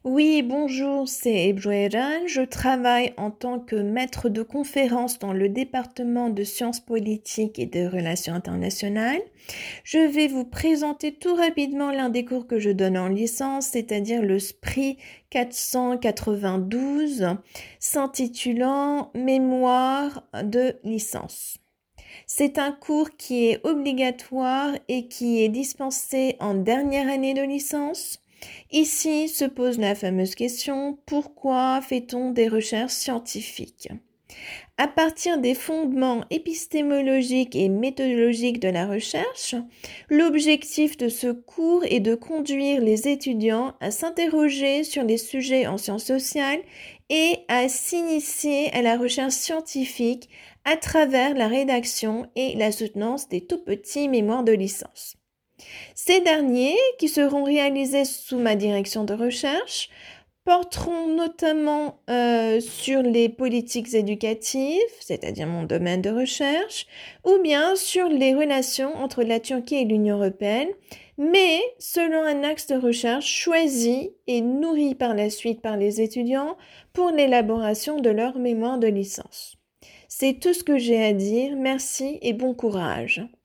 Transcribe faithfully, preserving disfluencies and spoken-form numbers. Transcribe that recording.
Oui, bonjour, c'est Ebru Eren. Je travaille en tant que maître de conférence dans le département de sciences politiques et de relations internationales. Je vais vous présenter tout rapidement l'un des cours que je donne en licence, c'est-à-dire le S P R I quatre cent quatre-vingt-douze, s'intitulant Mémoire de licence. C'est un cours qui est obligatoire et qui est dispensé en dernière année de licence. Ici se pose la fameuse question, pourquoi fait-on des recherches scientifiques? À partir des fondements épistémologiques et méthodologiques de la recherche, l'objectif de ce cours est de conduire les étudiants à s'interroger sur les sujets en sciences sociales et à s'initier à la recherche scientifique à travers la rédaction et la soutenance des tout petits mémoires de licence. Ces derniers, qui seront réalisés sous ma direction de recherche, porteront notamment euh, sur les politiques éducatives, c'est-à-dire mon domaine de recherche, ou bien sur les relations entre la Turquie et l'Union européenne, mais selon un axe de recherche choisi et nourri par la suite par les étudiants pour l'élaboration de leur mémoire de licence. C'est tout ce que j'ai à dire. Merci et bon courage.